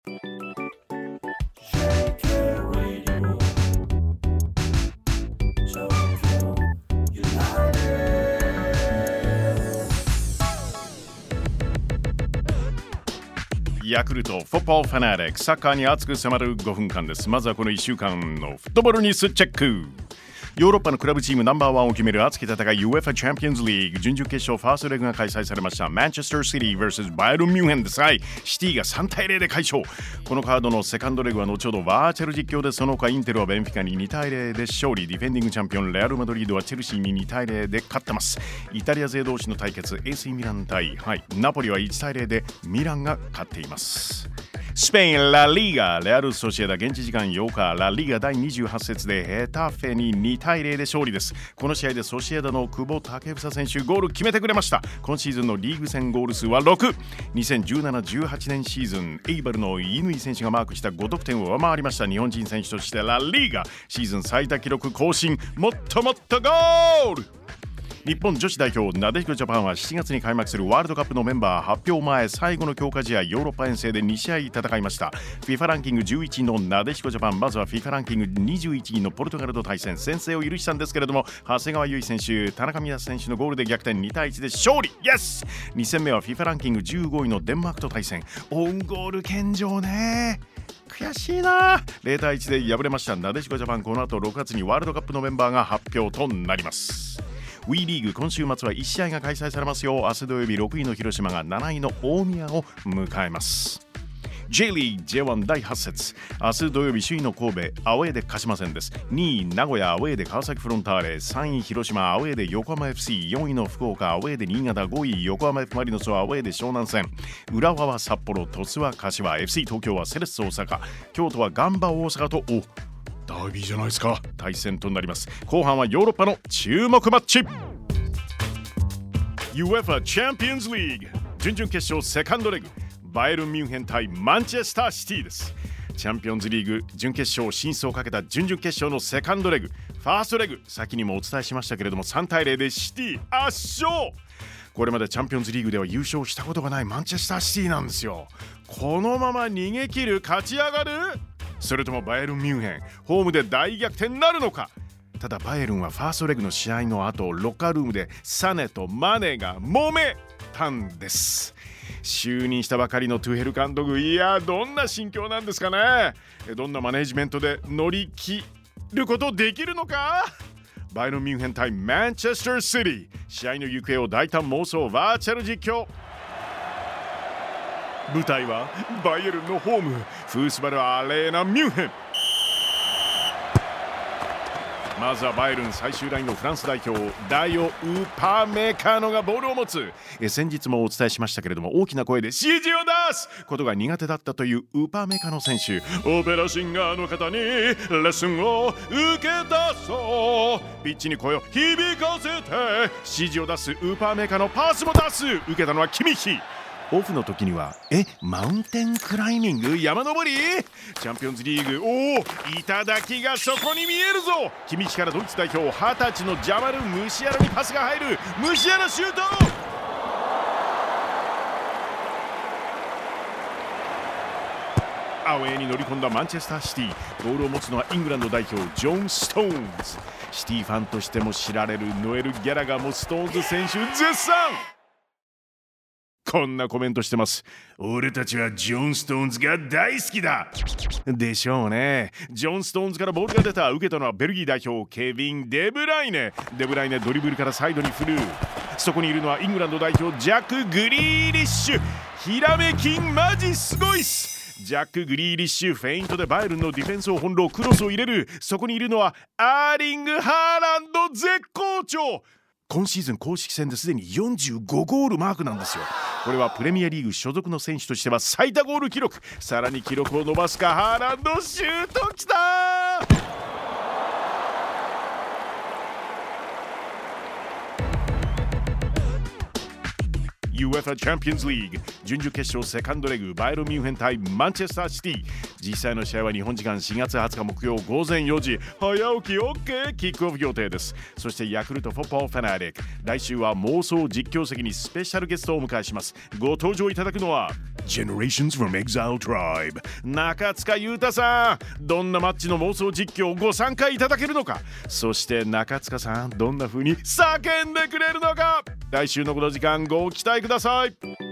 ヤクルトフォットボールファナティック、サッカーに熱く迫る5分間です。まずはこの1週間のフットボールニュースチェック。ヨーロッパのクラブチームナンバーワンを決める熱き戦い UEFA チャンピオンズリーグ準々決勝ファーストレグが開催されました。マンチェスターシティ vs バイエルンミュンヘンです。シティが3対0で快勝。このカードのセカンドレグは後ほどバーチャル実況で、その他インテルはベンフィカに2対0で勝利。ディフェンディングチャンピオンレアルマドリードはチェルシーに2対0で勝ってます。イタリア勢同士の対決 AC ミラン対、ナポリは1対0でミランが勝っています。スペインラリーガ、レアルソシエダ現地時間8日、ラリーガ第28節でヘタフェに2対0で勝利です。この試合でソシエダの久保建英選手ゴール決めてくれました。今シーズンのリーグ戦ゴール数は6。2017-18年シーズン、エイバルの乾選手がマークした5得点を上回りました。日本人選手としてラリーガシーズン最多記録更新。もっともっとゴール。日本女子代表なでしこジャパンは7月に開幕するワールドカップのメンバー発表前最後の強化試合ヨーロッパ遠征で2試合戦いました。 FIFA ランキング11位のなでしこジャパン、まずは FIFA ランキング21位のポルトガルと対戦。先制を許したんですけれども、長谷川唯選手、田中美奈選手のゴールで逆転、2対1で勝利。イエス。2戦目は FIFA ランキング15位のデンマークと対戦。オウンゴール献上ね、悔しいな。0対1で敗れましたなでしこジャパン。この後6月にワールドカップのメンバーが発表となります。WE リーグ今週末は1試合が開催されますよ。明日土曜日6位の広島が7位の大宮を迎えます。 J リーグ J1 第8節、明日土曜日首位の神戸アウェーで鹿島戦です。2位名古屋アウェーで川崎フロンターレ、3位広島アウェーで横浜 FC、 4位の福岡アウェーで新潟、5位横浜 F マリノスはアウェーで湘南戦、浦和は札幌、鳥栖は柏、 FC 東京はセレッソ大阪、京都はガンバ大阪とダービーじゃないですか、対戦となります。後半はヨーロッパの注目マッチ。 UEFA チャンピオンズリーグ準々決勝セカンドレグ、バイエルンミュンヘン対マンチェスターシティです。チャンピオンズリーグ準決勝進出をかけた準々決勝のセカンドレグ、ファーストレグ先にもお伝えしましたけれども3対0でシティ圧勝。これまでチャンピオンズリーグでは優勝したことがないマンチェスターシティなんですよ。このまま逃げ切る、勝ち上がる、それともバイエルンミュンヘンホームで大逆転になるのか。ただバイエルンはファーストレグの試合の後、ロッカールームでサネとマネが揉めたんです。就任したばかりのトゥヘル監督、いやどんな心境なんですかね。どんなマネジメントで乗り切ることできるのか。バイエルンミュンヘン対マンチェスターシティ、試合の行方を大胆妄想バーチャル実況。舞台はバイエルンのホームフースバルアレーナミュンヘン。まずはバイエルン最終ラインのフランス代表ダイオ・ウパメカノがボールを持つ。先日もお伝えしましたけれども、大きな声で指示を出すことが苦手だったというウパメカノ選手、オペラシンガーの方にレッスンを受けたそう。ピッチに声を響かせて指示を出すウパメカノ、パスも出す。受けたのはキミッヒ。オフの時にはマウンテンクライミング、山登り。チャンピオンズリーグ、頂がそこに見えるぞ。キミッヒからドイツ代表20歳のジャマル・ムシアラにパスが入る。ムシアラシュート。アウェーに乗り込んだマンチェスターシティ、ボールを持つのはイングランド代表ジョン・ストーンズ。シティファンとしても知られるノエル・ギャラガーもストーンズ選手絶賛。こんなコメントしてます。俺たちはジョン・ストーンズが大好きだでしょうね。ジョン・ストーンズからボールが出た。受けたのはベルギー代表ケビン・デブライネ。デブライネドリブルからサイドに振る。そこにいるのはイングランド代表ジャック・グリーリッシュ。ひらめきマジすごいっす。ジャック・グリーリッシュフェイントでバイエルンのディフェンスを翻弄、クロスを入れる。そこにいるのはアーリング・ハーランド絶好調。今シーズン公式戦ですでに45ゴールマークなんですよ。これはプレミアリーグ所属の選手としては最多ゴール記録。さらに記録を伸ばすか。ハーランドシュートきたー。UEFA チャンピオンズリーグ準々決勝セカンドレグ、バイエルンミュンヘン対マンチェスターシティ。 実際の試合は日本時間4月20日木曜午前4時、早起き OK キックオフ予定です。そしてヤクルトフォッポーファナリック、来週は妄想実況席にスペシャルゲストをお迎えします。ご登場いただくのは Generations from Exile Tribe 中塚裕太さん。どんなマッチの妄想実況をご参加いただけるのか、そして中塚さんどんな風に叫んでくれるのか、来週のこの時間ご期待ください。